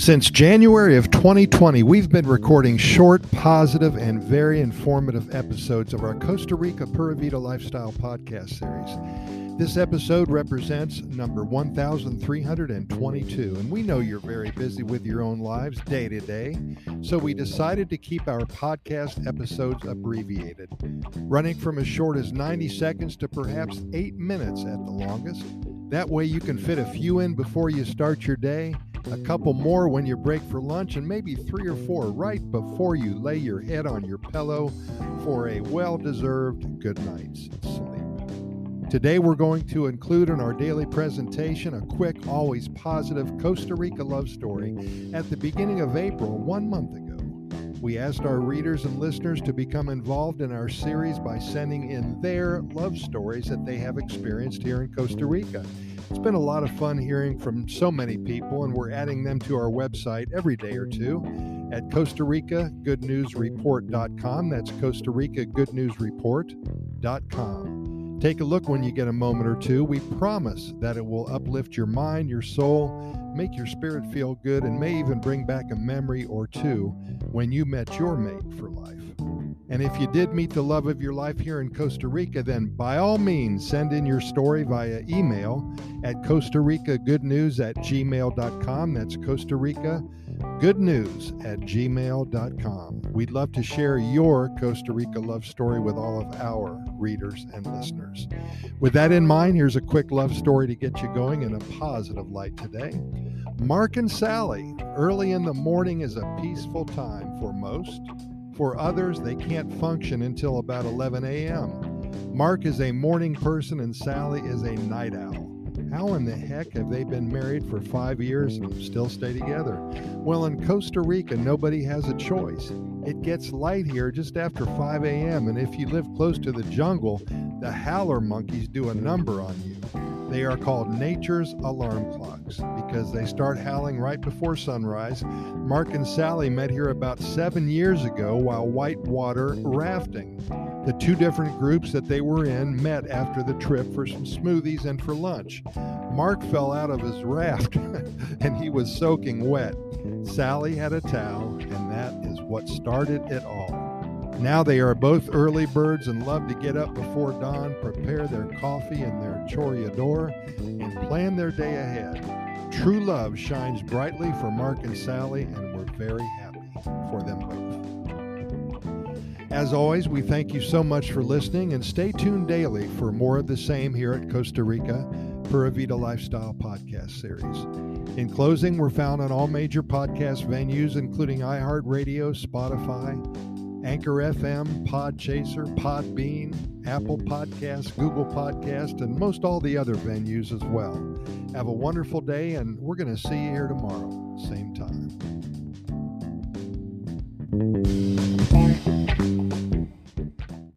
Since January of 2020, we've been recording short, positive, and very informative episodes of our Costa Rica Pura Vida Lifestyle podcast series. This episode represents number 1322, and we know you're very busy with your own lives day to day, so we decided to keep our podcast episodes abbreviated, running from as short as 90 seconds to perhaps 8 minutes at the longest. That way you can fit a few in before you start your day, a couple more when you break for lunch, and maybe 3 or 4 right before you lay your head on your pillow for a well-deserved good night's sleep. Today we're going to include in our daily presentation a quick, always positive Costa Rica love story. At the beginning of April, 1 month ago, we asked our readers and listeners to become involved in our series by sending in their love stories that they have experienced here in Costa Rica. It's been a lot of fun hearing from so many people, and we're adding them to our website every day or two at Costa Rica Good News Report.com. That's Costa Rica Good News Report.com. Take a look when you get a moment or two. We promise that it will uplift your mind, your soul, make your spirit feel good, and may even bring back a memory or two when you met your mate for life. And if you did meet the love of your life here in Costa Rica, then by all means, send in your story via email at CostaRicaGoodNews@gmail.com. That's Costa Rica goodnews@gmail.com. We'd love to share your Costa Rica love story with all of our readers and listeners. With that in mind, here's a quick love story to get you going in a positive light today. Mark and Sally. Early in the morning is a peaceful time for most. For others, they can't function until about 11 a.m. Mark is a morning person and Sally is a night owl. How in the heck have they been married for 5 years and still stay together? Well, in Costa Rica, nobody has a choice. It gets light here just after 5 a.m., and if you live close to the jungle, the howler monkeys do a number on you. They are called nature's alarm clocks because they start howling right before sunrise. Mark and Sally met here about 7 years ago while whitewater rafting. The 2 different groups that they were in met after the trip for some smoothies and for lunch. Mark fell out of his raft and he was soaking wet. Sally had a towel, and that is what started it all. Now they are both early birds and love to get up before dawn, prepare their coffee and their choreador, and plan their day ahead. True love shines brightly for Mark and Sally, and we're very happy for them both. As always, we thank you so much for listening, and stay tuned daily for more of the same here at Costa Rica Pura Vida Lifestyle podcast series. In closing, we're found on all major podcast venues, including iHeartRadio, Spotify, Anchor FM, Podchaser, Podbean, Apple Podcasts, Google Podcasts, and most all the other venues as well. Have a wonderful day, and we're going to see you here tomorrow, same time.